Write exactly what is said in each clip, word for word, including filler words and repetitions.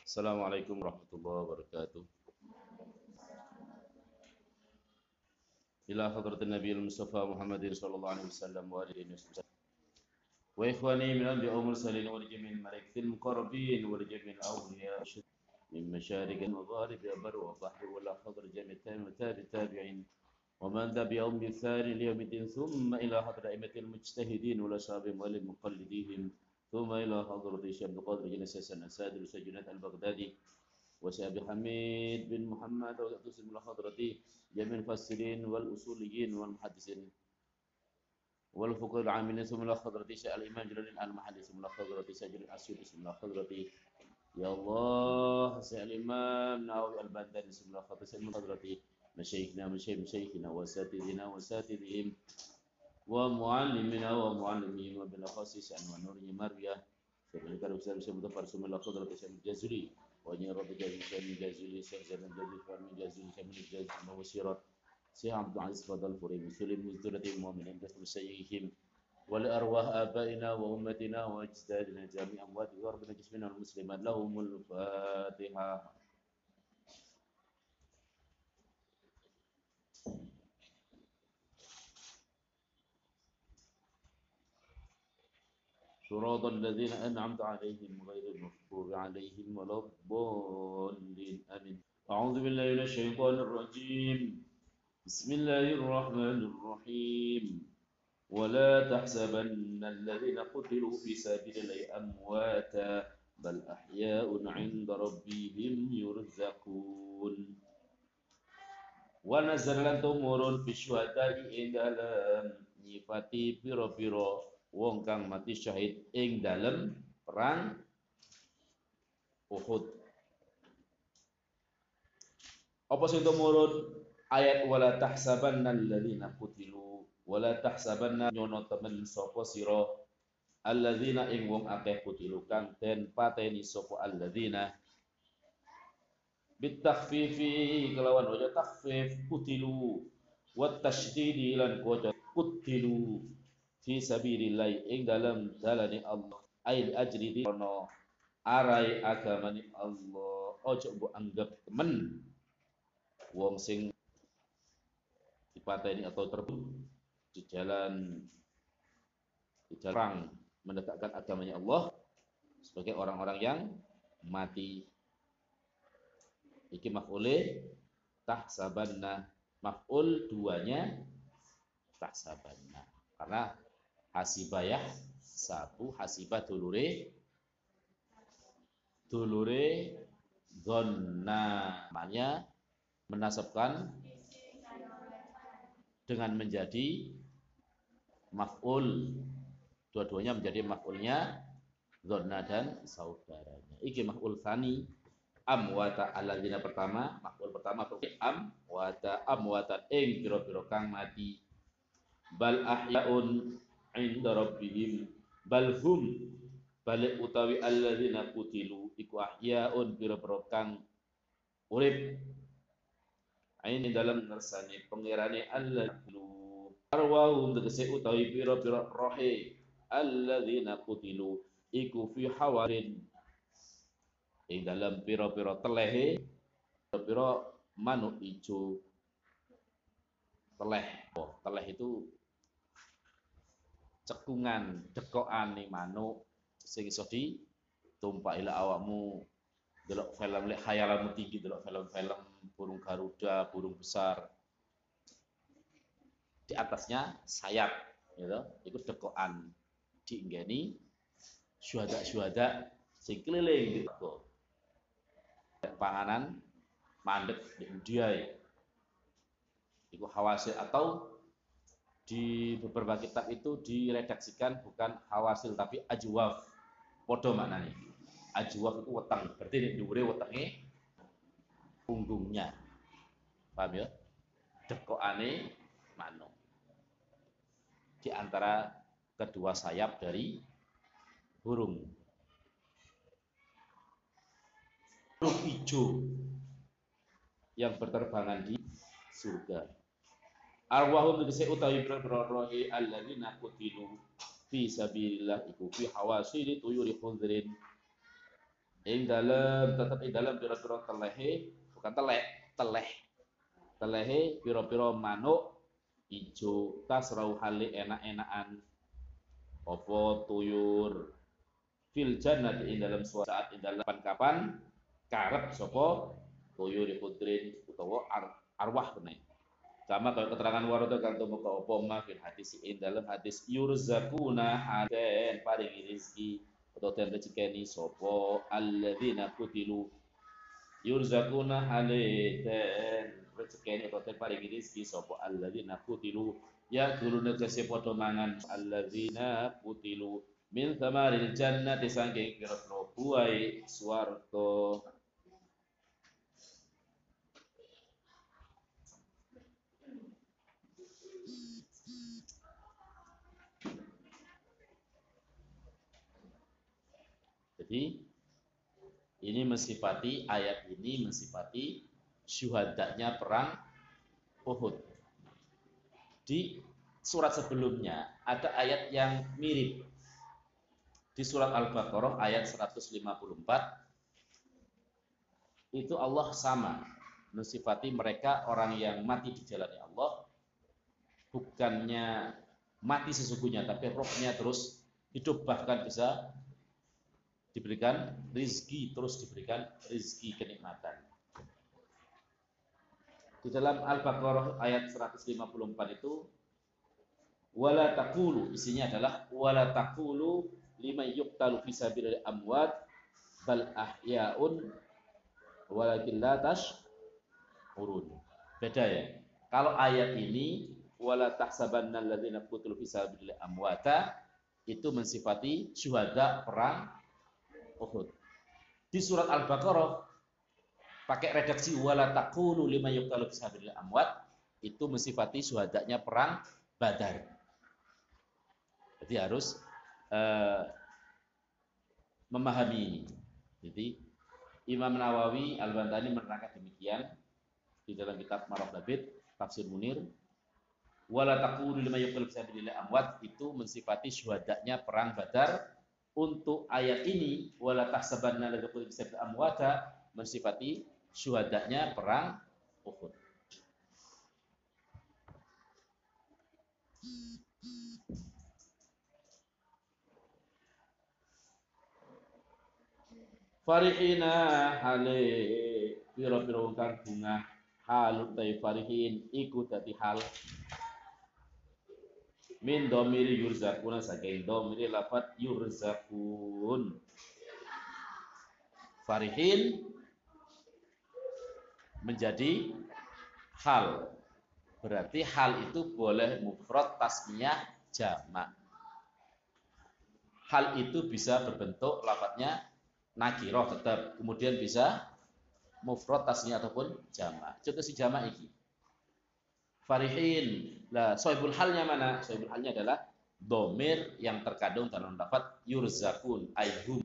Assalamualaikum warahmatullahi wabarakatuh. Ila hadratin Nabi Mustafa Muhammadin sallallahu alaihi wasallam wa alihi wasallam. Wa ikhwani min anbiya mursalin wa jami'il malaikatil muqarrabin wa jami'il awliya min masyarik wa magharib bar wa bahr wa la hadr jami' tabi tabi'in wa man tabi'ahum bi thani li yawmiddin thumma ila hadrat aimatil mujtahidin wa la sahabihim wa lil muqallidihim thumma ila hadrati syekh Abdul Qadir Jinasasan Asadir Sajunat Al-Baghdadi وسأبي حميد بن محمد وتقسم إلى حضرتي جميع المفسرين والأصوليين والمحدثين والفقهاء العاملين ثم إلى حضرتي شيخ الإمام جلال المحلي ثم إلى حضرتي سجل الأسيوطي ثم إلى حضرتي يا الله شيخ الإمام نووي البغدادي ثم إلى حضرتي مشايخنا مشايخ مشايخنا وأساتذتنا وأساتذتهم ومعلمنا ومعلمين وبالأخص شأن ونور مرية فبارك الله في مظفر ثم إلى حضرتي شيخ الجزري وأن رب جازي شامل جازي شيخ زمان جازي فارمي جازي شامل جازي موسيرات شيخ عبد العزيز فضل فري مسلم مزدورة المؤمنين بث مسيحهم ولأرواح آبائنا وأمتنا وأجدادنا جميع أموات وربنا جسمنا والمسلمات لهم الفاتحة. صراط الذين أنعمت عليهم غير المغضوب عليهم ولا الضالين آمين. أعوذ بالله من الشيطان الرجيم. بسم الله الرحمن الرحيم. ولا تحسبن الذين قتلوا في سبيل الله أمواتا بل أحياء عند ربهم يرزقون. ونزل tumurun bisyuhada'i ing dalam nyifati piro-piro wong kang mati syahid ing dalam perang Uhud. Apa sing tumurun ayat wala tahsabanna alladzina qutilu wala tahsabanna nyono temen sapa sira alladzina ing wong akeh qutilu kang den pateni sapa alladzina bitakhfifi kelawan waja takhfif qutilu wat tasydidi lan waja qutilu fi sabilillah ing dalam dalane Allah ail ajri di ono arai agamane Allah. Ojo mbok anggap temen wong sing dipateni atau terbunuh di jalan di jalan menegakkan agamanya Allah sebagai orang-orang yang mati. Iki maf'ule tahsabanna, maf'ul duanya tahsabanna karena hasibayah satu hasibah dulure dulure dhanna namanya menasabkan dengan menjadi maf'ul, dua-duanya menjadi maf'ulnya dhanna dan saudaranya. Iki maf'ul tsani amwata alladzina pertama, maf'ul pertama amwata amwatan ing pira-pira kang mati bal ahyaun inda rabbihim bal hum balik utawi alladzina qutilu iku ahyaun pira-pira kang urip aini dalam ngersane pangerane alladzina arwahum tegese utawi pira-pira rohe alladzina qutilu iku fi hawarin ing dalam pira-pira telehe pira-pira manuk ijo teleh. Oh, teleh itu cekungan dekokane manuk sing iso ditumpaki lek awakmu delok film lek khayalanmu tinggi delok film-film burung garuda, burung besar di atasnya sayap gitu. Iku dekokan dienggeni syuhada-syuhada sing keliling gitu. Panganan mandek di India iku hawasil atau di beberapa kitab itu diredaksikan bukan hawasil tapi ajwaf. Podo maknanya. Ajwaf itu weteng, berarti di dhuwure wetenge punggungnya. Paham ya? Dekokane manuk. Di antara kedua sayap dari burung. Burung hijau yang berterbangan di surga. Arwahum tegese utawi pira-pira rohi alladzina qutilu fi sabilillah iku fi hawasili tuyuri khudrin ing dalem tetep ing dalem pira-pira telehe, bukan telek, teleh. Telehe pira-pira manuk ijo tasrau hale enak-enakan apa tuyur fil jannati ing dalam suatu saat ing dalam kapan karep sapa tuyur khudrin utawa ar, arwah kene. Sama kalau keterangan warata kang tumeka apa ma fil hadis ing dalam hadis yurzakuna aden paringi rezeki atau den rezekeni sapa alladzina kutilu yurzakuna haladen rezekeni atau den paringi rezeki sapa alladzina kutilu ya gulune kese padha mangan alladzina kutilu min thamaril jannati saking pira-pira buah swarga. Jadi ini mensifati ayat ini mensifati syuhadanya perang Uhud. Di surat sebelumnya ada ayat yang mirip. Di surat Al-Baqarah ayat seratus lima puluh empat itu Allah sama mensifati mereka orang yang mati di jalan Allah, bukannya mati sesungguhnya tapi rohnya terus hidup, bahkan bisa diberikan rizki, terus diberikan rizki kenikmatan. Di dalam Al-Baqarah ayat seratus lima puluh empat itu wala taqulu, isinya adalah wala taqulu liman yuqtalu fi sabilillah amwat bal ahya'un walakin la tash'urun. Beda ya. Kalau ayat ini wala tahsabanna alladzina qutilu fi sabilillah amwata itu mensifati syuhada perang Uhud. Di surat Al-Baqarah pakai redaksi wala taqulu liman yuqtalu fi sabilillah amwat itu mensifati syuhadanya perang Badar. Jadi harus uh, memahami ini. Jadi Imam Nawawi Al-Bantani menerangkan demikian di dalam kitab Maraf Labid Tafsir Munir. Wala taqulu liman yuqtalu fi sabilillah amwat itu mensifati syuhadanya perang Badar. Untuk ayat ini wala tahsabanna alladzina qutilu fi sabilillah amwata mensifati syuhadanya perang Uhud. Farihina hale pira-pira kang bunga halut tai farihin iku dadi hal min domiri yurzakuna saking domiri lafat yurzakun. Farihin menjadi hal, berarti hal itu boleh mufrad, tasniyah, jamak. Hal itu bisa berbentuk lafadznya nakirah tetap, kemudian bisa mufrad, tasniyah ataupun jamak. Contoh si jamak ini farihin. Lah, sohibul halnya mana? Sohibul halnya adalah domir yang terkandung dalam lafaz yurzakun aihum.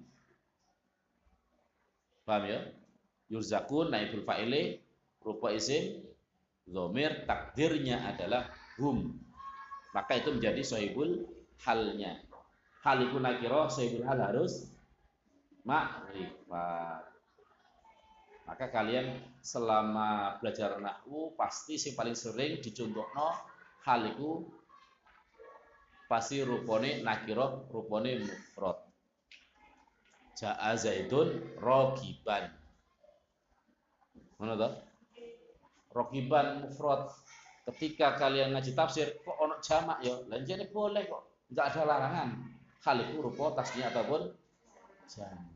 Paham ya? Yurzakun naibul fa'ile rupa isim domir, takdirnya adalah hum. Maka itu menjadi sohibul halnya. Hal itu nakirah, sohibul hal harus ma'rifat. Maka kalian selama belajar nahwu pasti sing paling sering dicontohno hal iku pasti rupane nakirah, rupane mufrad. Ja'a Zaidun rogiban. Mana toh? Rogiban mufrad. Ketika kalian ngaji tafsir kok ono jamak ya, lanjane boleh kok. Enggak ada larangan. Hal itu rupa tasniyah ataupun jamak.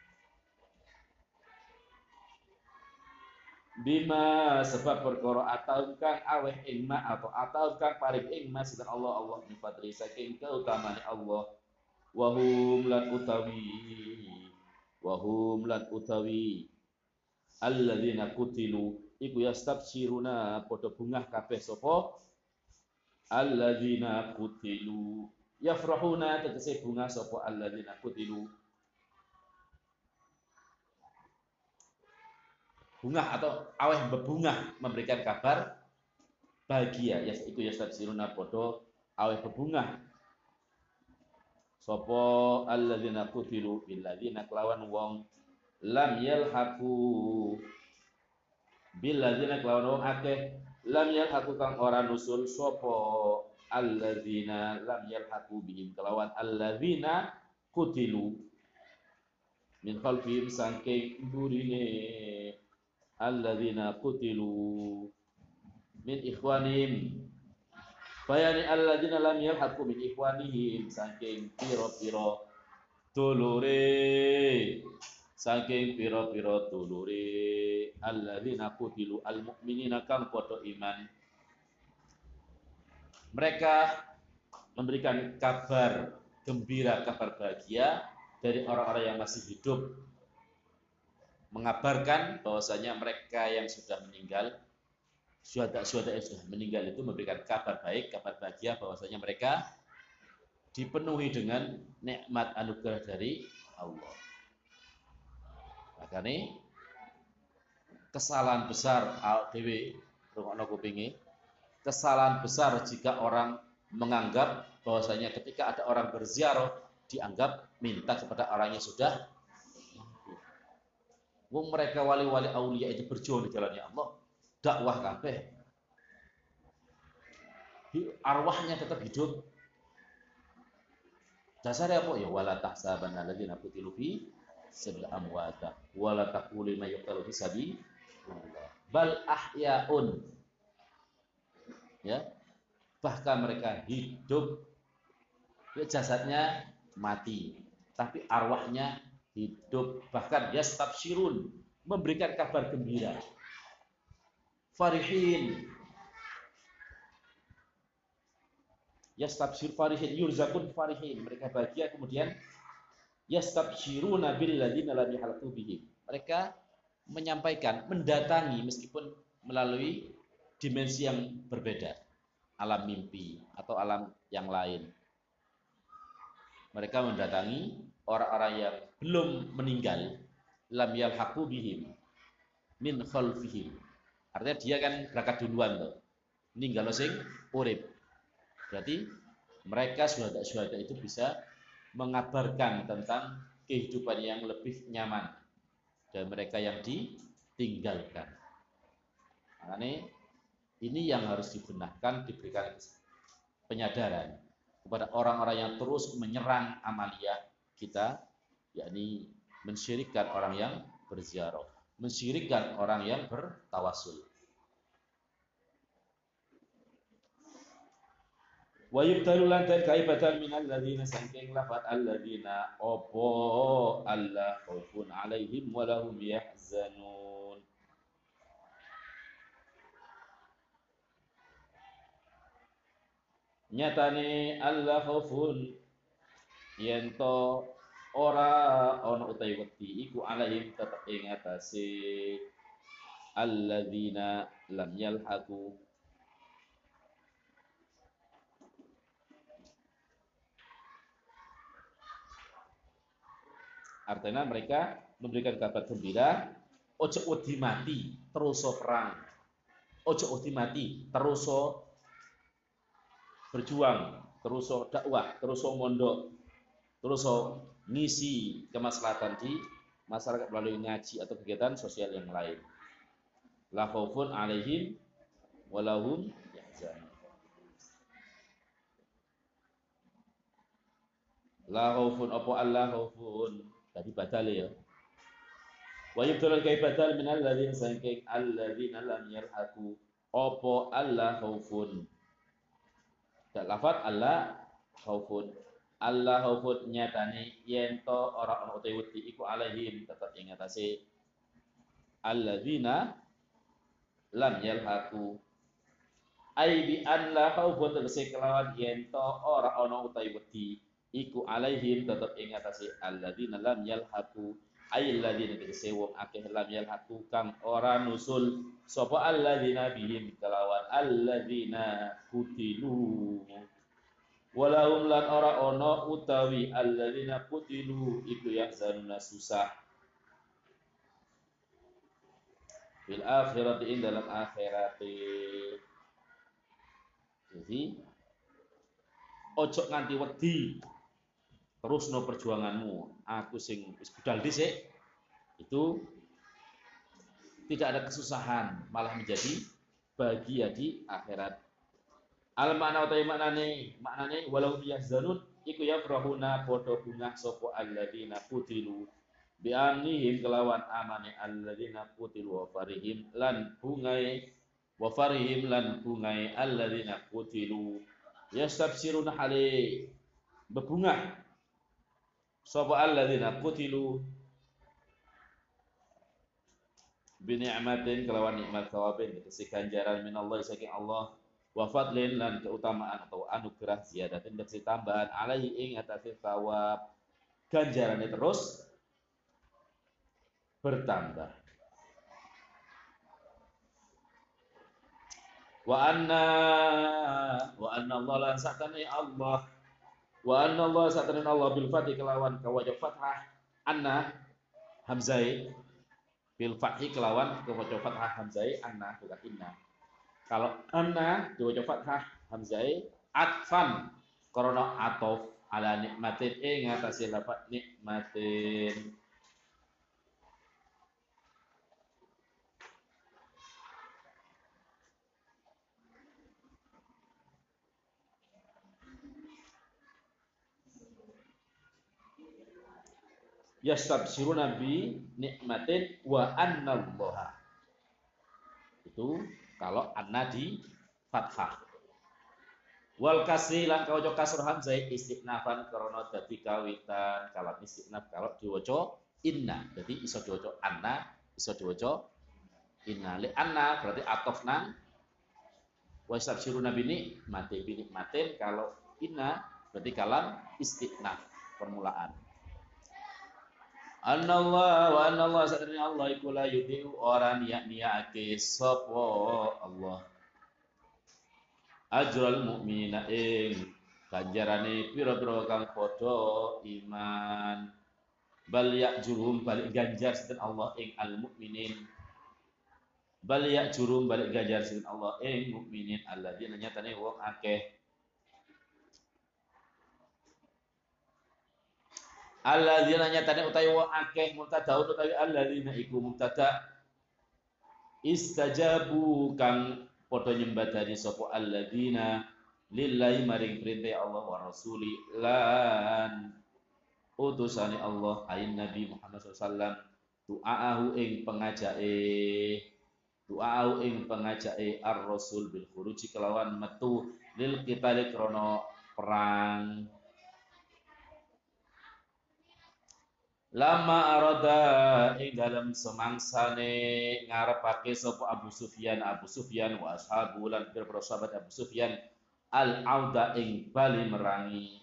Bima sebab perkara atau kang aweh ing ma atau atau kang paring ing ma sinten Allah Allah min fadli saking keutamaan Allah wa hum lan utawi wa hum lan utawi alladzina qutilu iku yastabshiruna padha bungah kabeh sapa alladzina qutilu yafrahuna tegese bungah sapa alladzina qutilu bungah atau aweh bebungah memberikan kabar bahagia ya iku yastabsiruna padha aweh bebungah sapa alladzina qutilu billadzina kelawan wong lam yalhaqu bil ladzina kelawan akeh lam yalhaqu kang ora nusul sapa alladzina lam yalhaqu bihim kelawan alladzina kutilu min khalfihim saking burine alladzina kutilu min ikhwanihim bayani alladzina lam yalhaqu min ikhwanihim saking pira-pira dulure saking pira-pira dulure alladzina qutilu almu'minina kang padha iman mereka memberikan kabar gembira kabar bahagia dari orang-orang yang masih hidup mengabarkan bahwasanya mereka yang sudah meninggal syuhada-syuhada yang sudah meninggal itu memberikan kabar baik kabar bahagia bahwasanya mereka dipenuhi dengan nikmat anugerah dari Allah. Makanya kesalahan besar al dewi rungokno kupinge kesalahan besar jika orang menganggap bahwasanya ketika ada orang berziarah dianggap minta kepada orang yang sudah wong mereka wali-wali aulia itu berjuang di jalannya Allah dakwah kabeh arwahnya tetap hidup dasarnya apa ya wala tahsabanna alladziina qutilu fi sabil amwata wala taqulu ma yuqtalu fi sabilillah bal ahyaun ya bahkan mereka hidup jasadnya mati tapi arwahnya hidup bahkan yastabsyirun memberikan kabar gembira farihin yastabsyir farihin yurzakun farihin mereka bahagia kemudian yastabsyiruna bil ladzina lam yalhaqu bihim mereka menyampaikan mendatangi meskipun melalui dimensi yang berbeda alam mimpi atau alam yang lain mereka mendatangi orang-orang yang belum meninggal lam yalhaqu bihim min khalfihim artinya dia kan berangkat duluan tuh meninggal sing urip berarti mereka syuhada-syuhada itu bisa mengabarkan tentang kehidupan yang lebih nyaman dan mereka yang ditinggalkan. Makanya ini yang harus dibenahkan, diberikan penyadaran kepada orang-orang yang terus menyerang amaliyah kita, yakni mensyirikkan orang yang berziarah, mensyirikkan orang yang bertawasul. Wa yubtalu lan kaibatan minal ladzina saking lafat alladzina opo alla khaufun alaihim wa lahum yahzanun nyatane alla khaufun yento ora ana utawi wedi iku alaihim tetep ing atase alladzina lam yalhaqu artinya mereka memberikan kabar gembira ojo wedi mati terus perang ojo wedi mati terus berjuang terus dakwah terus mondok terus ngisi kemaslahatan di masyarakat melalui ngaji atau kegiatan sosial yang lain la khaufun alaihim walahum yahzanun la khaufun apa Allah khaufun tadi badal ya. Wa yubtalal kai badal minal ladzina saking alladzina lam yalhaqu apa Allah khaufun. Tak lafaz Allah khaufun. Allah khaufun nyatane yen to ora ana utawi wedi iku alaihim tetep ing atase alladzina lam yalhaqu. Ai bi an la khaufun tegese kelawan yen to ora ana utawi wedi iku alaihim tetep ing atase alladzina lam yalhaqu ay alladzina tegese wong akeh lam yalhaqu kang ora nusul sapa alladzina bihim kelawan alladzina kutilu walahum lan ora ana utawi alladzina kutilu iku yahzanuna susah fil akhirati ing dalam akhirati jadi ojo nganti wedi terusno perjuanganmu aku sing wis budal dhisik itu tidak ada kesusahan, malah menjadi bahagia di akhirat. Al makna utawi maknane, maknane walau yahzanun iku yafrahuna padha bungah sapa alladzina qutilu bi amnihim kelawan amane alladzina qutilu wa farihim lan bungai wa farihim lan bungai alladzina qutilu yastabsiruna hale bebungah sapa alladzina qutilu bi ni'matin kelawan nikmat thawabin tegese ganjaran minallah saking Allah wa fadlin lan keutamaan atau anugerah ziyadatin tegese tambahan alaihi ing atase thawab ganjarane terus bertambah. Wa anna wa anna Allah lan satane Allah wa anna Allah satane Allah bil fathi kelawan kawaja fathah anna hamzai bil fathi kelawan kawaja fathah hamzai anna bukan inna. Kalau anna diwaca fathah hamzai atfan karena atof ala nikmatin ing atase lafaz nikmatin. Yastabsiruna bi nikmatin wa annallaha. Itu kalau anna di fathah. Wal kasri lan kawaca kasr hamzah istinafan karena dadi kawitan kalau istinaf kalau diwaca inna. Jadi iso diwaca anna, iso diwaca inna. Li anna berarti atof nang wa yastabsiruna bi nikmatin bi nikmatin kalau inna berarti kalam istinaf permulaan. Anallah wa anallah sadari Allah iku la yudhi'u orang niat-niatake sapa Allah ajral mukminina ing ganjarane pira-pira kang padha iman bal ya'jurum balik ganjar sinten Allah ing al mukminin bal ya'jurum balik ganjar sinten Allah ing mukminin alladzina nyatane wong akeh alladzina nyatane utawi wong akeh mubtada utawi alladzina iku mubtada istajabu kang padha nyembadani sapa alladzina lillahi maring perintah Allah wa rasuli lan utusane Allah ayin Nabi Muhammad sallallahu alaihi wasallam du'aahu ing pengajake du'aahu ing pengajake ar-rasul bil khuruji kelawan metu lil qitali krana perang. Lama arada ing dalam semangsane ngarepake sapa Abu Sufyan Abu Sufyan wa ashabu lan pira-pira sahabat Abu Sufyan al auda ing bali merangi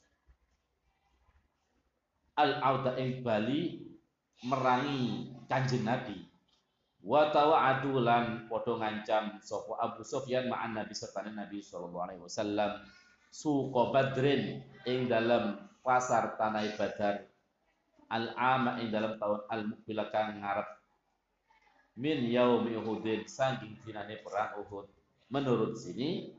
al auda ing bali merangi Kanjeng Nabi wa tawa'adu lan padha ngancam sapa Abu Sufyan ma'an Nabi serta Nabi sallallahu alaihi wasallam suqa Badrin ing dalam pasar tanah Badar al-ama ing dalam tahun al-muqbil kang ngarep min yaumi Uhudin saking dinane perang Uhud. Menurut sini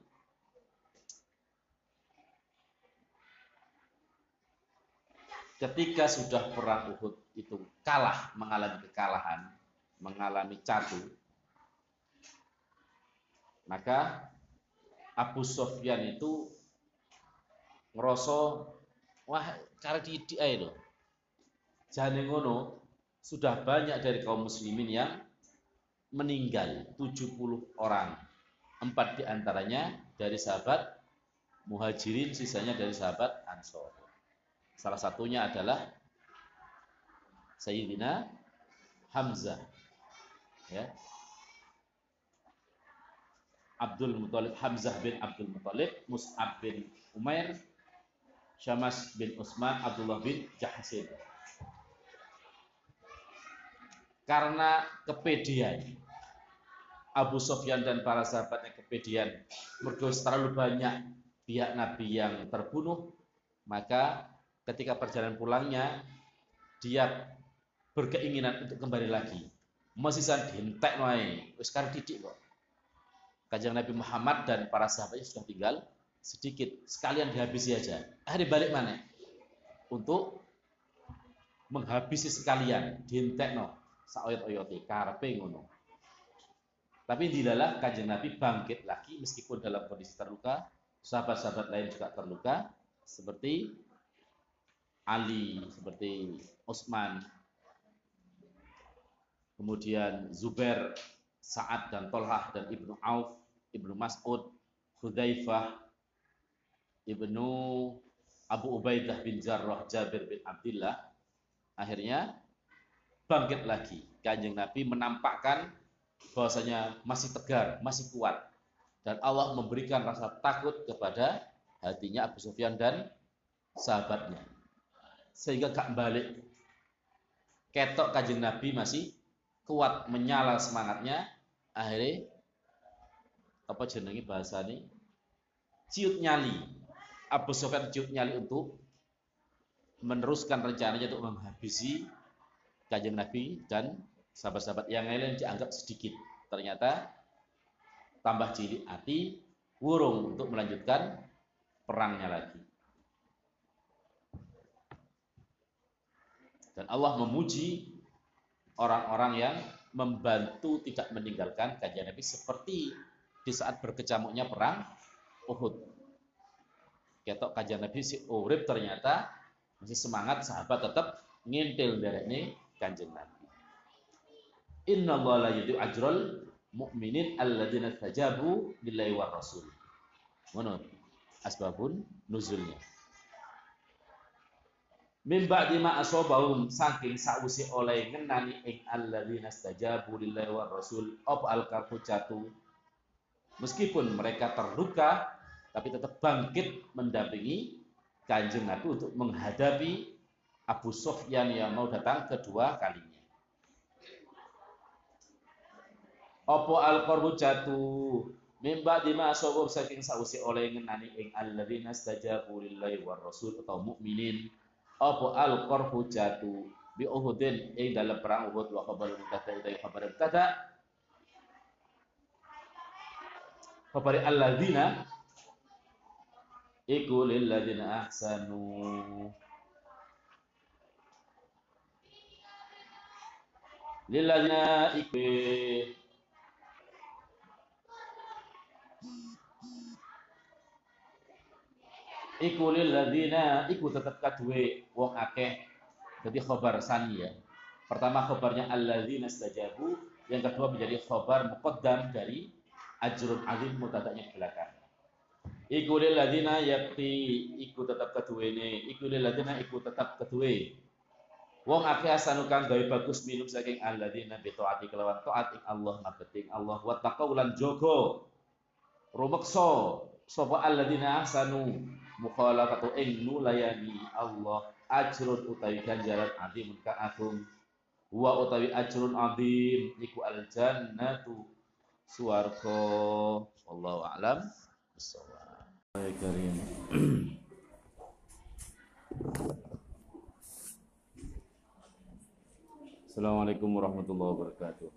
ketika sudah perang Uhud itu kalah, mengalami kekalahan, mengalami catu, maka Abu Sufyan itu ngerasa wah cara didik ae lho. Jane ngono, sudah banyak dari kaum muslimin yang meninggal, tujuh puluh orang. Empat diantaranya dari sahabat Muhajirin, sisanya dari sahabat Ansor. Salah satunya adalah Sayyidina Hamzah. Ya. Abdul Muthalib, Hamzah bin Abdul Muthalib, Mus'ab bin Umair, Syamas bin Utsman, Abdullah bin Jahsin. Karena kepedian Abu Sufyan dan para sahabatnya kepedian mergo terlalu banyak pihak Nabi yang terbunuh, maka ketika perjalanan pulangnya dia berkeinginan untuk kembali lagi. Masih san dientek wae, wis karep didik kok. Kanjeng Nabi Muhammad dan para sahabatnya sudah tinggal sedikit, sekalian dihabisi aja. Ah dibalik mana? Untuk menghabisi sekalian, dientekno saoyot-oyote karepe ngono. Tapi dilalah Kanjeng Nabi bangkit lagi meskipun dalam kondisi terluka, sahabat-sahabat lain juga terluka seperti Ali, seperti Utsman, kemudian Zubair, Sa'ad dan Tolhah dan Ibnu Auf, Ibnu Mas'ud, Hudzaifah, Ibnu Abu Ubaidah bin Jarrah, Jabir bin Abdullah, akhirnya bangkit lagi. Kanjeng Nabi menampakkan bahwasanya masih tegar, masih kuat, dan Allah memberikan rasa takut kepada hatinya Abu Sufyan dan sahabatnya, sehingga gak balik. Ketok Kanjeng Nabi masih kuat, menyala semangatnya. Akhirnya apa jenenge bahasane, ciut nyali. Abu Sufyan ciut nyali untuk meneruskan rencananya untuk menghabisi Kanjeng Nabi dan sahabat-sahabat yang lain dianggap sedikit. Ternyata tambah cilik hati, wurung untuk melanjutkan perangnya lagi. Dan Allah memuji orang-orang yang membantu tidak meninggalkan Kanjeng Nabi seperti di saat berkecamuknya perang Uhud. Ketok Kanjeng Nabi si urip ternyata masih semangat, sahabat tetap ngintil derekne Kanjeng Nabi. Inna Allah la yudhi'u ajral mu'minin alladzina tajabu lillahi war rasul. Ngono asbabun nuzulnya. Min ba'di ma asabahum, saking sausi oleh ngenani ing alladzina tajabu lillahi war rasul op al-karfujatu. Meskipun mereka terluka tapi tetap bangkit mendampingi Kanjeng Nabi untuk menghadapi Abu Sufyan yang mau datang kedua kalinya. Opo al-qarbu jatuh mimba dima asobom saking sausi oleh ngenani ing alladzina stajabu lillahi war rasul atau mukminin. Opo al-qarbu jatuh bi Uhudin ing dalam perang Uhud wa khabar mutada ita khabar mutada. Khabar alladzina iku lil ladzina ahsanu lil ladzina iku iku lil ladzina iku tetep kadue wong akeh. Jadi khabar sani ya. Pertama khabarnya alladzina stajabu, yang kedua menjadi khabar muqaddam dari ajrun azim mutadanya ke belakang. Iku lil ladzina yakti iku tetep kaduene, iku lil ladzina iku tetep kadue wong akeh asanu kang gawe bagus minum saking alladzina bi taati kelawan taat ing Allah mabeting Allah wa taqau lan jaga rumeksa sapa alladzina ahsanu mukhalafatu ing nulayani Allah ajrun utawi ganjaran azim ka agung wa utawi ajrun azim iku al jannatu swarga. Wallahu a'lam bissawab. Baik karim. Assalamualaikum warahmatullahi wabarakatuh.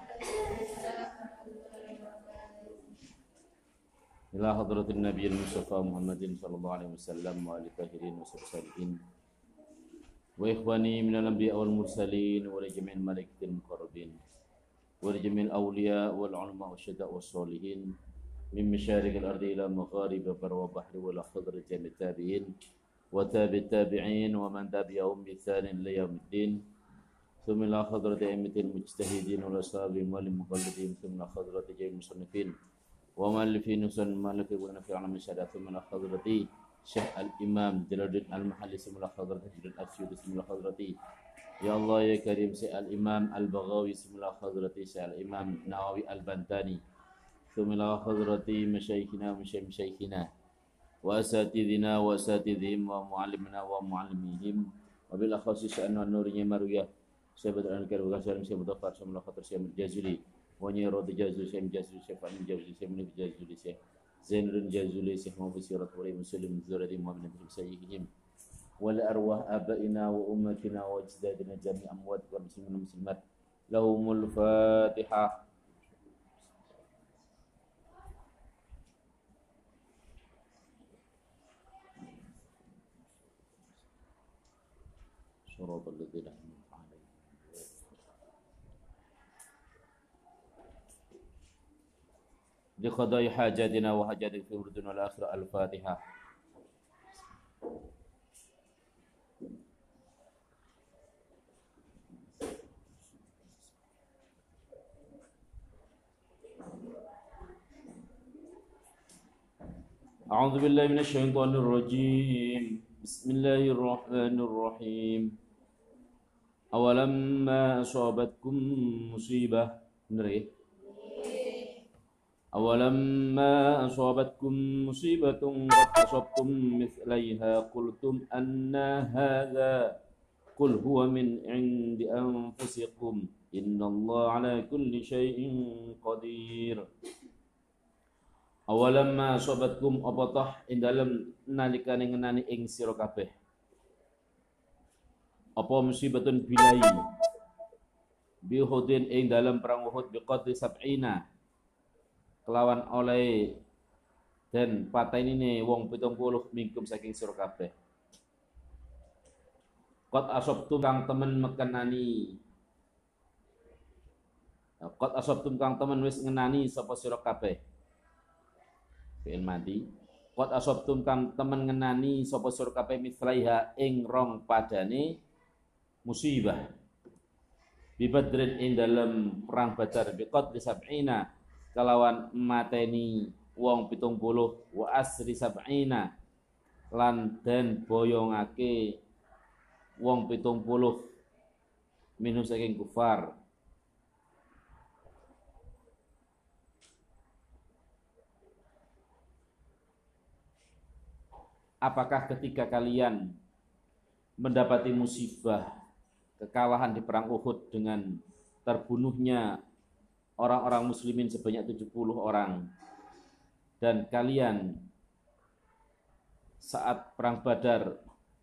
Ila hadratin nabiyil mustafa Muhammadin sallallahu alaihi wasallam wa alihi tahirin wa sahbihi wa ikhwani minal anbiya wal mursalin wa jami'il malaikatil muqarrabin wa jami'il awliya wal ulama wasyuhada was sholihin min masyariqil ardi ila magharib bar wa bahri wal khadr jami'it tabi'in wa tabi'it tabi'in wa man tabi'ahum bi ihsanin ila yaumiddin. Thumma ila hadrati a'immatil mujtahidin wal ashabi wal muqallidin thumma hadrati jami'il musannifin wa mu'allifin usul mu'allifin wa nafi' alam syahadat thumma hadrati Syekh al-Imam Jalaluddin al-Mahalli thumma hadrati Jalaluddin al-Asyuri thumma hadrati ya Allah ya Karim Syekh al-Imam al-Baghawi thumma hadrati Syekh al-Imam Nawawi al-Bantani thumma hadrati masyayikhina wa masyayikhina wa asatidina wa asatidhim wa mu'allimina wa mu'allimihim wa bil akhasi sya'an nurinya maruyah Syekh Badran Karim wa Syekh Mudafar thumma hadrati Syekh al-Jazuli Wanya Rodi Jazuli, Syekh Jazuli, Syekh Fahmi Jazuli, Syekh Munif Jazuli, Syekh Zainuddin Jazuli, Syekh Muhammad Sirat Wali Muslim Zuradi Muhammad Nabi Sayyidihim wal arwah abaina wa ummatina wa ajdadina jami' amwat wa muslimin muslimat lahumul fatihah. صراط الذين أنعمت عليهم. لقضاء حاجاتنا وحاجاتك في الدنيا والآخرة. الفاتحة. أعوذ بالله من الشيطان الرجيم. بسم الله الرحمن الرحيم. أولما أصابتكم مصيبة نري أولما أصابتكم مصيبة قد أصبتم مثليها قلتم أن هذا قل هو من عند أنفسكم إن الله على كل شيء قدير. Awalamma sobatkum apatah ing dalem nalikane ngenani ing sira kabeh apa musibatun bilai bi Uhudin ing dalem perang Uhud bi qadri sab'ina kelawan oleh dan patenine wong pitung puluh mingkum saking sira kabeh qad asabtum kang temen mekenani qad asabtum kang temen wis ngenani sapa sira kabeh fi'il madi qad asabtum kang temen ngenani sapa sira kabeh mithlaiha ing rong padane musibah bi badrin ing dalem perang Badar bi qadri sab'ina kalawan mateni wong pitung puluh wa asri sab'ina lan den boyongake wong pitung puluh minus saking kufar. Apakah ketika kalian mendapati musibah kekalahan di perang Uhud dengan terbunuhnya orang-orang muslimin sebanyak tujuh puluh orang dan kalian saat perang Badar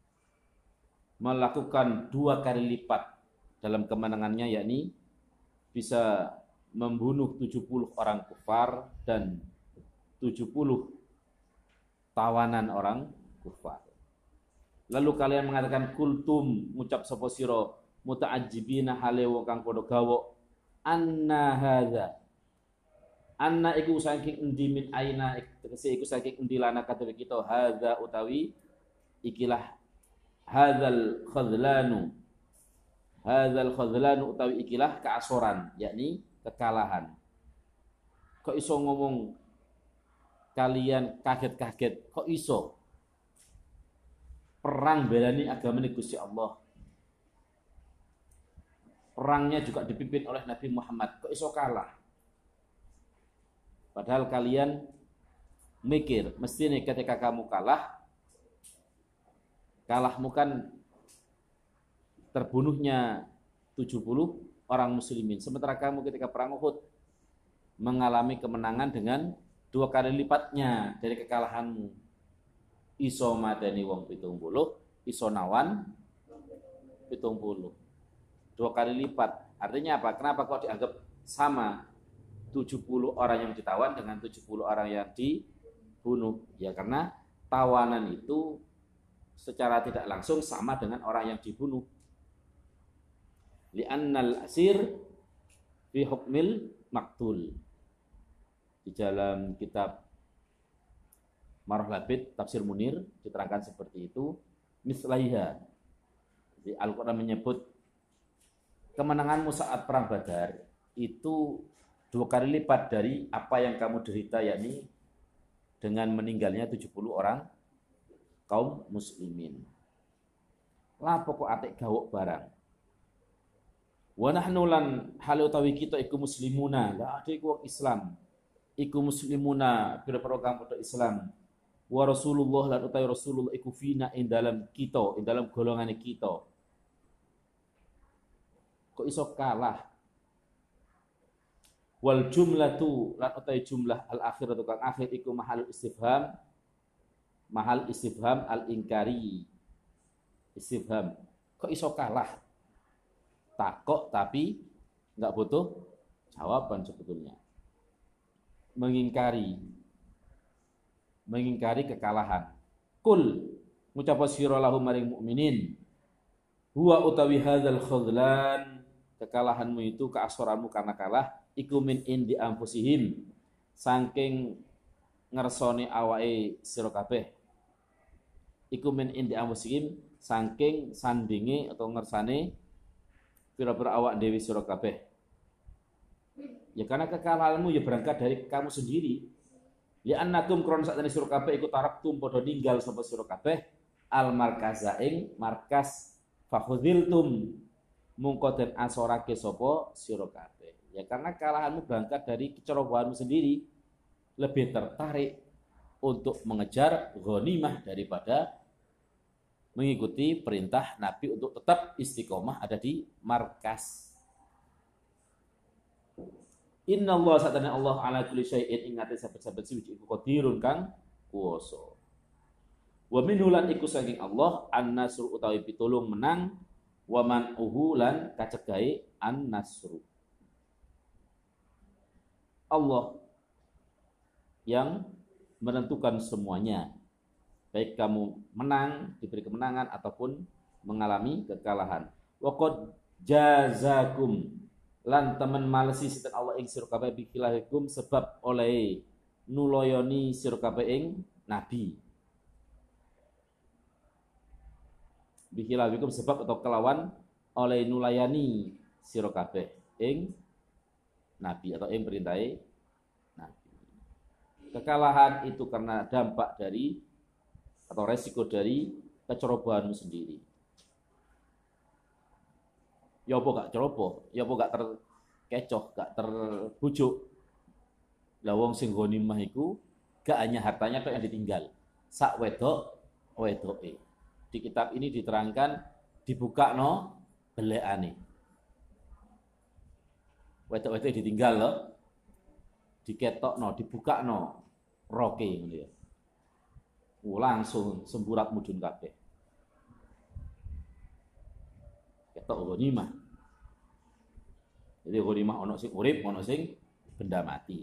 melakukan dua kali lipat dalam kemenangannya, yakni bisa membunuh tujuh puluh orang kufar dan tujuh puluh tawanan orang kufar. Lalu kalian mengatakan kultum ngucap sapa sira muta'ajjibina hale wong kang padha gawa anna hadza anna iku saking endi min aina tegese iku saking endi lana kadhewe kita hadza utawi ikilah hadzal khadlanu hadzal khadlanu utawi ikilah keasoran yakni kekalahan. Kok iso ngomong kalian kaget-kaget, kok iso perang belani agama Gusti Allah, perangnya juga dipimpin oleh Nabi Muhammad, kok iso kalah? Padahal kalian mikir mesti nih ketika kamu kalah, kalahmu kan terbunuhnya tujuh puluh orang muslimin, sementara kamu ketika perang Uhud mengalami kemenangan dengan dua kali lipatnya dari kekalahanmu. Iso madani wong pitung puluh, iso nawan pitung puluh. Dua kali lipat. Artinya apa? Kenapa kok dianggap sama tujuh puluh orang yang ditawan dengan tujuh puluh orang yang dibunuh? Ya karena tawanan itu secara tidak langsung sama dengan orang yang dibunuh. Li'annal asir fi hukmil maktul. Di dalam kitab Marah Labid Tafsir Munir diterangkan seperti itu. Mislaiha, di Al-Quran menyebut kemenanganmu saat perang Badar itu dua kali lipat dari apa yang kamu derita, yakni dengan meninggalnya tujuh puluh orang kaum muslimin. Lah pokok atik gawok barang. Wa nahnu lan hal utawi kita iku muslimuna, la ade iku Islam. Iku muslimuna pira-pira kang padha Islam. Wa Rasulullah lan utawi Rasulullah iku fina ing dalam kita, ing dalam golongane kita. Kok iso kalah? Wal jumlatu lan utawi jumlah al akhiratu kang akhir iku mahal istifham, mahal istifham al inkari. Istifham. Kok iso kalah? Takok tapi enggak butuh jawaban sebetulnya. Mengingkari mengingkari kekalahan. Kul ngucap sira lahum maring mukminin Huwa utawi hadzal khudlan, kekalahanmu itu, keasoranmu karena kalah, iku min indi anfusihim, saking ngersoni awake sira kabeh. Iku min indi anfusihim, saking sandinge atau ngersane pira-pira awak dewi sira kabeh. Ya karena kekalahanmu ya berangkat dari kamu sendiri. Li annakum kron sakjane sira kabeh iku taraktum padha ninggal sapa sira kabeh al markaza ing markas fakhudiltum mungko den asorake sapa sira kabeh. Ya karena kekalahanmu berangkat dari kecerobohanmu sendiri, lebih tertarik untuk mengejar ghanimah daripada mengikuti perintah Nabi untuk tetap istiqomah ada di markas. Inna Allah satana Allah ala kulli syai'in ingate saben-saben suci iku qadirun kang kuwasa. Wa minhulan iku saking Allah an-nasru utawi pitulung menang, wa man uhulan kacegahe an-nasru. Allah yang menentukan semuanya, baik kamu menang, diberi kemenangan ataupun mengalami kekalahan. Wa qad jazakum lan temen malesi sinten Allah ing sira kabeh bikilahikum sebab oleh nuloyoni sira kabeh ing nabi. Bikilahikum sebab atau kelawan oleh nulayani sira kabeh ing nabi atau ing perintahe nabi. Kekalahan itu karena dampak dari atau resiko dari kecerobohanmu sendiri. Ya apa gak ceroboh, ya apa gak terkecoh, gak terbujuk. Lah wong sing ghanimah iku gak hanya hartanya tok yang ditinggal. Sak wedok wedoke. Di kitab ini diterangkan dibukakno belekane. Wedok-wedok ditinggal loh. Diketokno, dibukakno roke ngono ya. Langsung semburat mudhun kabeh. Ketok ghanimah. Jadi ghanimah ono sing urip, ono sing benda mati.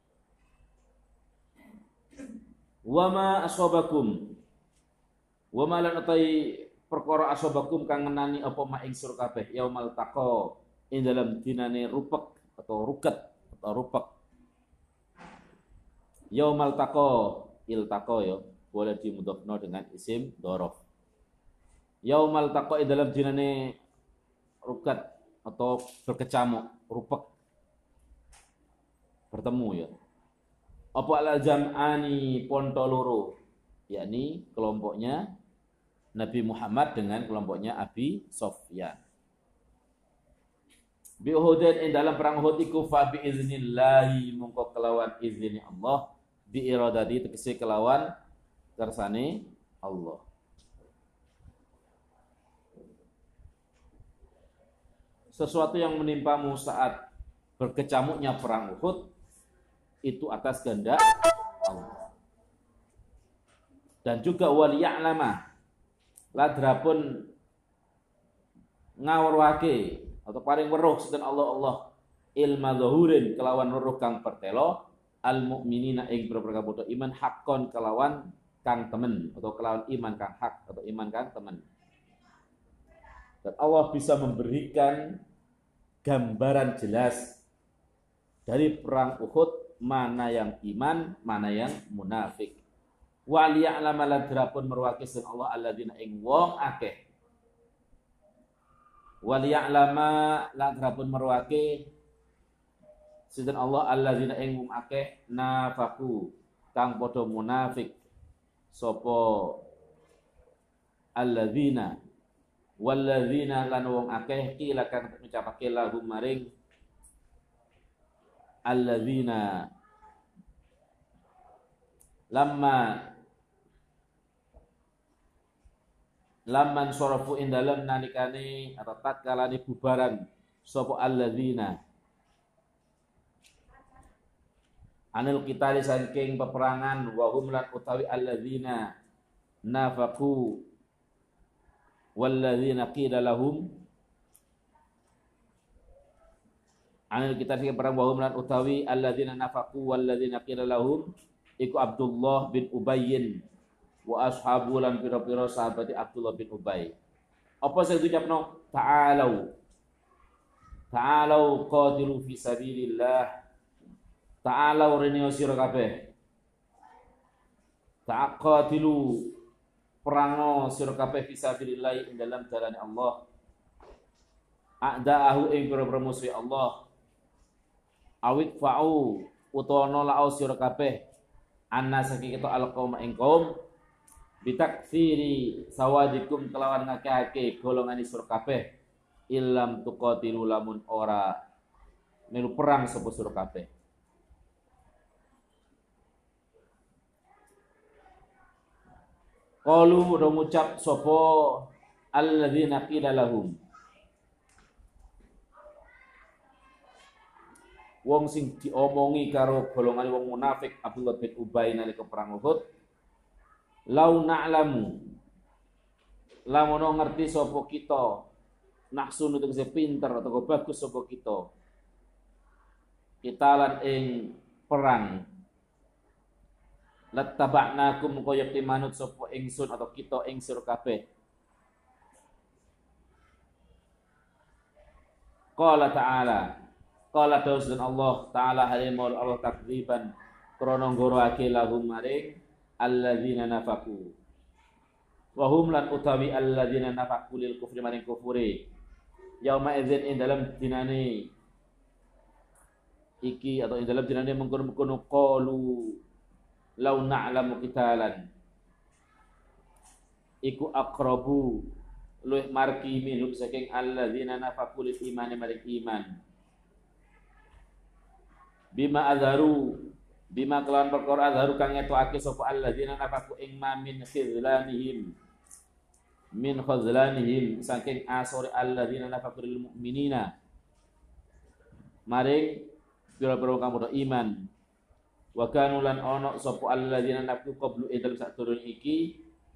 Wa ma asabakum. Wa ma lan atai perkara asabakum kang ngenani apa ma ing sira kabeh yaumal taqa ing dalam dinane rupek atau ruket atau rupek. Yaumal taqa iltaqa ya, boleh dimudhofno dengan isim dzaraf. Yaumal taqa ing dalam dinane ruket atau berkecamuk, rupek, bertemu ya. Apa al jam'ani ponto loro, yakni kelompoknya Nabi Muhammad dengan kelompoknya Abi Sufyan. Bi Uhudin ing dalam perang Uhud iku fa bi iznillahi mungko kelawan izin Allah, bi iradati tegese kelawan kersane Allah. Sesuatu yang menimpamu saat berkecamuknya perang Uhud itu atas kehendak Allah. Dan juga waliya'lama ladrapun ngawruhake atau paring weruh sinten Allah Allah ilma zahurin kelawan weruh kang pertelo al mukminina ing pira-pira kabeh iman hakkon kelawan kang temen atau kelawan iman kang hak atau iman kang temen. Dan Allah bisa memberikan gambaran jelas dari perang Uhud mana yang iman, mana yang munafik. Wa liya'lama ladrapun merwaki sin Allah alladzina ing wong akeh. Wa liya'lama ladrapun merwaki sin Allah alladzina ing wong akeh nafaku kang padha munafik sapa alladzina walladzina lan wong akeh kila kang ngucapake lahum maring alladzina lamma lamman sarafu indalem nalikane atau tatkalane bubaran sapa alladzina anil qitali saking peperangan wa hum lan utawi alladzina nafaqu walladzina qila lahum anil kita fikir perang wahum lan utawi alladzina nafaqu walladzina qila lahum iku Abdullah bin Ubayyin wa ashabu lan pira-pira sahabati Abdullah bin Ubay. Apa sing diucapno? Ta'alau. Ta'alau qatilu fi sabilillah. Ta'alau rene sira kabeh. Ta'qatilu perango sira kabeh fi sabilillah ing dalam jalan Allah. A'da'ahu ing pira-pira musuh Allah. Awik fa'u utawa nolak sira kabeh anna saking kita alqaum ing kaum bitakfiri sawadikum kelawan ngakeh-akeh golongan sira kabeh illam tuqatilu lamun ora melu perang sapa sira kabeh. Qalu do ngucap sapa alladzina qila lahum, wong sing diomongi karo golongan wong munafik Abdullah bin Ubay nalika perang Uhud, lau na'lamu lamun ngerti sapa kita naksun untuk se pinter atau bagus sapa kita kita lan ing perang lattaba'nakum kaya manut sapa ingsun atau kita ing sira kabeh. Qala ta'ala, qala dawsun Allah ta'ala halimul Allah takdziban krana nggoroake lahum maring alladzina nafaku wa hum lan utawi alladzina nafaku lil kufri maring kufure yauma idzin ing dalam dinane iki atau ing dalam dinane mengkono-mengkono qalu law na'lamu qitalan iku aqrabu luih marki minhum saking alladzina nafaku lil imani maring iman bima azharu bima kelawan perkara azharu kang ngetokake sapa alladzina nafaku ing ma min khizlanihim min khazlanihim saking asore alladzina nafaku lil mu'minina maring pira-pira kang padha iman wa kanu lan ana sapa alladzina nafaku qablu idal sadurun iki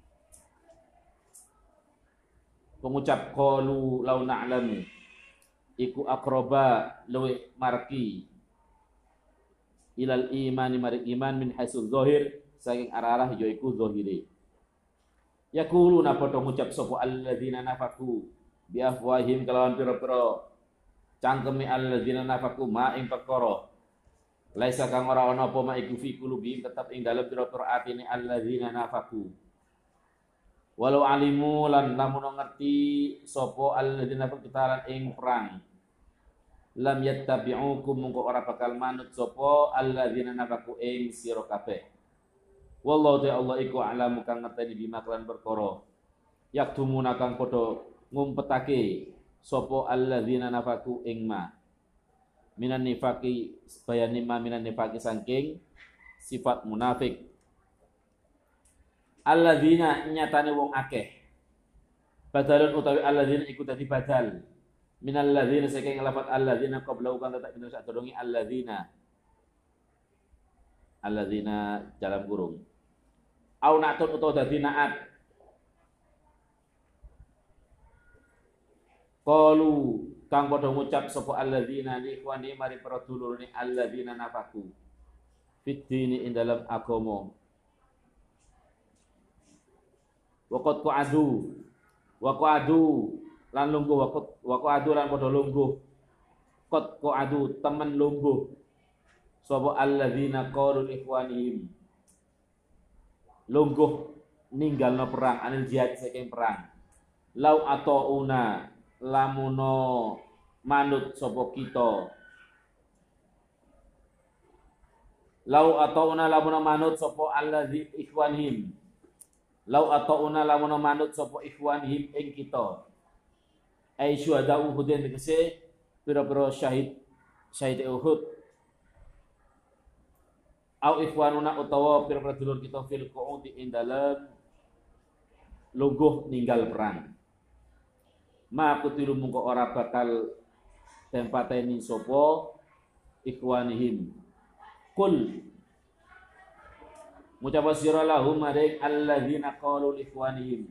pengucap qalu law na'lamu iku aqraba luwih marki ilal imani maring iman min haitsu zahir saking arah-arah yaiku zahire. Yaquluna padha ngucap sapa alladzina nafaku bi afwahim kelawan pira-pira cangkeme alladzina nafaku ma ing perkara laisa kang ora ana apa ma iku fi qulubihim tetep ing dalem pira-pira atine alladzina nafaku. Walau alimu lan lamun ngerti sapa alladzina nafaku kitaran ing perang lam yattabi'ukum mungko ora bakal manut sapa alladzina nafaku ing sira kabeh. Wallahu ta'ala Allah iku a'lamu kang ngerteni bima kelan perkara yaktumuna kang padha ngumpetake sapa alladzina nafaku ing ma minan nifaqi bayani ma minan nifaqi saking sifat munafik. Alladzina nyatane wong akeh badalun utawi alladzina iku dadi badal minal ladzina saking lafat alladzina qablau kan tak kita sadurunge alladzina alladzina dalam kurung au natun utawa dadi naat qalu kang padha ngucap sapa alladzina li ikhwani mari para dulurane alladzina nafaku fid dini ing dalam agama waqad qa'adu wa qa'adu lan lungguh waqad wa qa'adu lan padha lungguh qad qa'adu temen lungguh sapa alladzina qalu ikhwanihim lungguh ninggalno perang anil jihad saking perang lau atauna lamuno manut sapa kita lau atauna lamuno manut sapa alladzi ikhwanihim lau atauna lamuno manut sapa ikhwanihim ing kita ai syuhada Uhud tegese pira-pira syahid syahid Uhud au ikhwanuna utawa pira-pira dulur kita fil qu'udi ing dalem lungguh ninggal perang ma kutilu mungko ora bakal tempateni sapa ikhwanihim kul ngucap sira lahum maring alladzina qalu ikhwanihim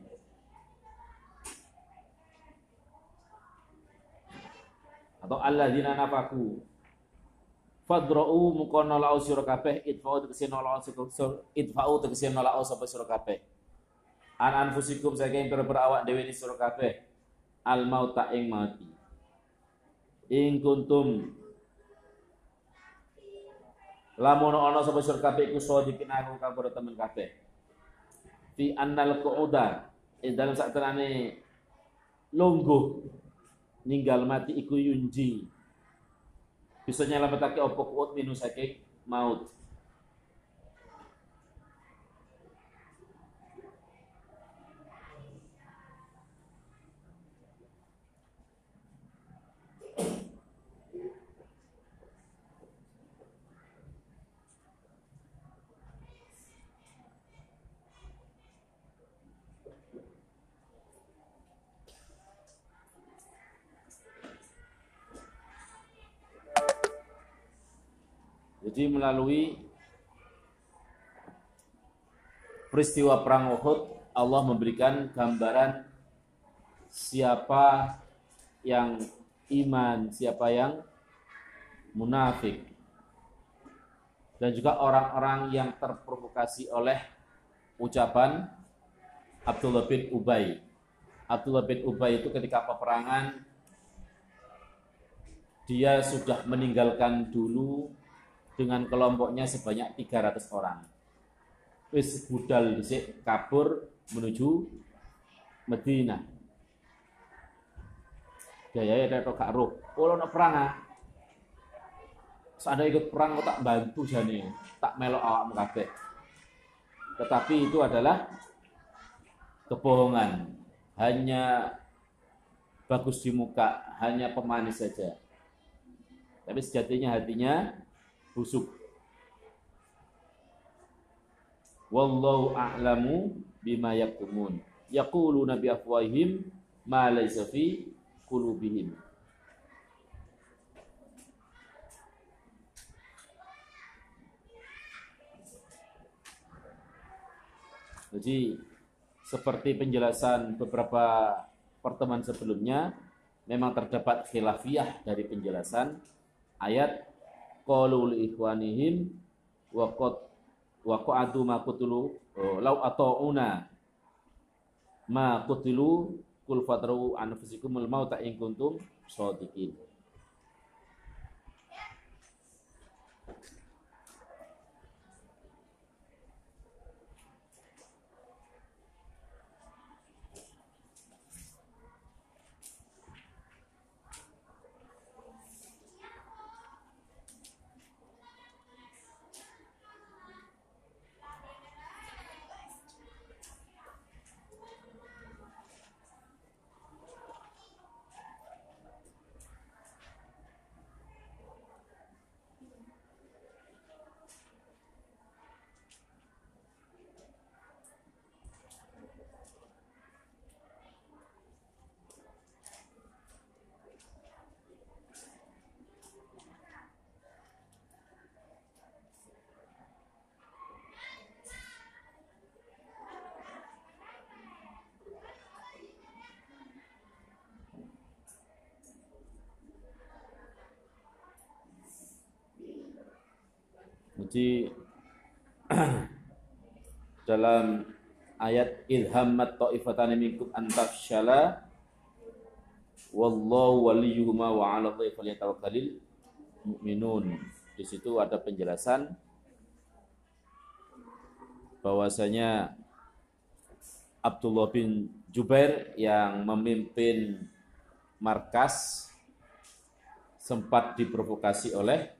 atau alladzina nafaku fadra'u mukono lau sira kabeh idfa'u tegese nolak idfa'u tegese nolak sapa sira kabeh an anfusikum saking pira-pira awak dhewe ni sira kabeh al mauta ing mati. In kuntum lamun ana sapa sira kabeh iku sadiqin aku kang padha temen kabeh. Fi annal qu'uda ing dalem sakterane lungguh ninggal mati iku yunji. Bisa nyelametake apa kuat minu saking maut. Jadi melalui peristiwa perang Uhud, Allah memberikan gambaran siapa yang iman, siapa yang munafik. Dan juga orang-orang yang terprovokasi oleh ucapan Abdullah bin Ubay. Abdullah bin Ubay itu ketika peperangan, dia sudah meninggalkan dulu dengan kelompoknya sebanyak tiga ratus orang. Wis budal dhisik kabur menuju Madinah. Gaya ya tok gak roh. Ora ono perang ah. Seandainya ikut perang kok tak bantu jane, tak melok awakmu kabeh. Tetapi itu adalah kebohongan. Hanya bagus di muka, hanya pemanis saja. Tapi sejatinya hatinya busuk. Wallahu a'lamu bima yaktumun. Yaquluna bi afwahihim ma laysa fi qulubihim. Jadi seperti penjelasan beberapa pertemuan sebelumnya, memang terdapat khilafiyah dari penjelasan ayat qalu li ikhwanihim wa qad wa qa'adu ma qutulu law ata'una ma qutilu kul fatru anfusikumul mauta in kuntum shadiqin. Jadi dalam ayat ilhammat ta'ifatani minkum antafshala wallahu waliyuhuma wa 'ala Allahi falyatawakkalul mu'minun. Di situ ada penjelasan bahwasanya Abdullah bin Jubair yang memimpin markas sempat diprovokasi oleh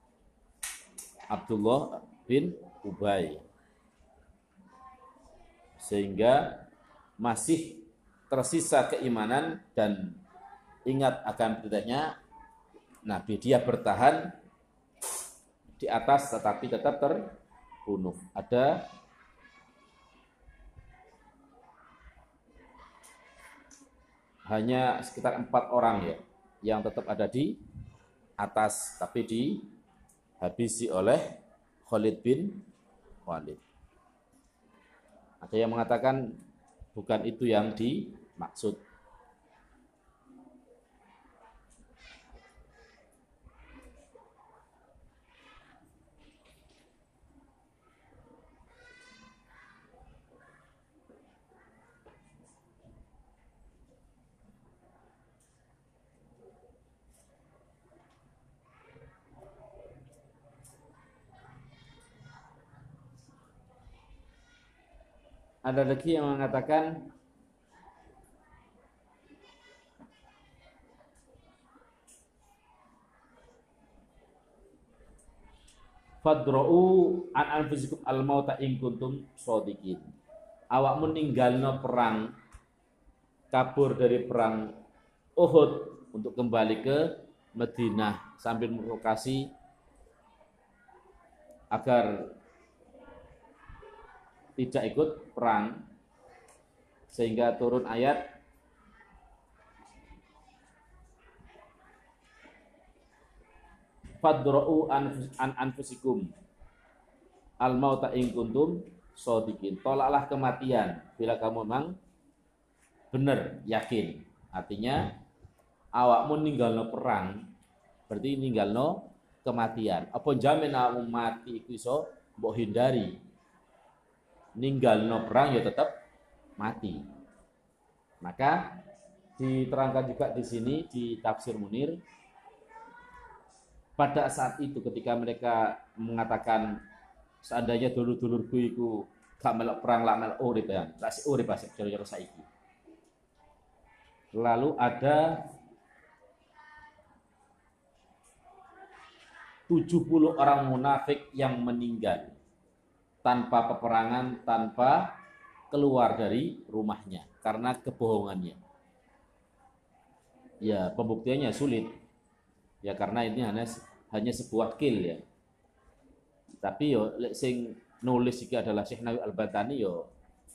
Abdullah bin Ubay, sehingga masih tersisa keimanan dan ingat akan beritanya Nabi. Dia bertahan di atas tetapi tetap terbunuh. Ada hanya sekitar empat orang ya yang tetap ada di atas, tapi dihabisi oleh Khalid bin Walid. Ada yang mengatakan bukan itu yang dimaksud. Ada lagi yang mengatakan fadra'u an anfusikum al-mauta in kuntum shodiqin. Awakmu ninggalno perang, kabur dari perang Uhud untuk kembali ke Madinah sambil memprovokasi agar tidak ikut perang, sehingga turun ayat fadra'u an anfusikum al-mauta in kuntum shodiqin. Tolaklah kematian bila kamu memang benar, yakin. Artinya awakmu ninggalno perang berarti ninggalno kematian. Apa jamin awakmu mati iku iso mbok hindari? Ninggalno perang ya tetap mati. Maka diterangkan juga di sini di tafsir Munir, pada saat itu ketika mereka mengatakan seandainya dulur-dulurku iku gak melok perang lak melok urip ya, lak urip asik cara-cara saiki. Lalu ada tujuh puluh orang munafik yang meninggal tanpa peperangan, tanpa keluar dari rumahnya karena kebohongannya. Ya, pembuktiannya sulit. Ya karena ini hanya hanya sebuah kill ya. Tapi yo sing nulis iki adalah Syekh Nawawi Al-Batani yo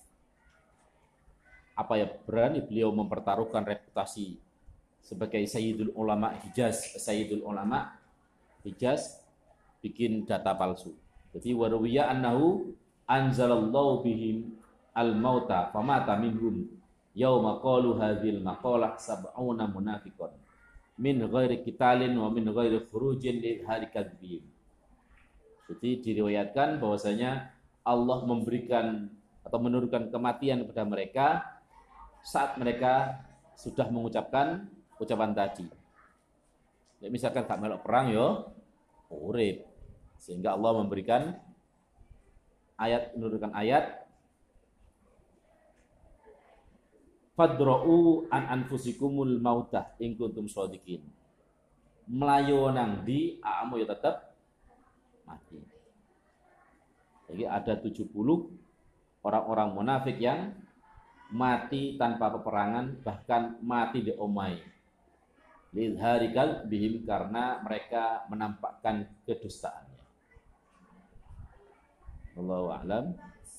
apa ya, berani beliau mempertaruhkan reputasi sebagai Sayyidul Ulama Hijaz, Sayyidul Ulama Hijaz bikin data palsu. Jadi warwiya annahu anzalallahu bihim al-mauta famata minhum yauma qalu hadhil maqalah sab'una munafiqun min ghairi qitalin wa min ghairi khurujin li hari kadzbihim. Jadi diriwayatkan bahwasanya Allah memberikan atau menurunkan kematian kepada mereka saat mereka sudah mengucapkan ucapan tadi. Ya, misalkan gak melok perang yo urip. Sehingga Allah memberikan ayat, menurunkan ayat fadra'u an anfusikumul mautah in kuntum shodiqin. Melayu nang di aamu ya tetap mati. Jadi ada tujuh puluh orang-orang munafik yang mati tanpa peperangan, bahkan mati di omai. Lidharikal bihim, karena mereka menampakkan kedustaannya. Wallahu a'lam.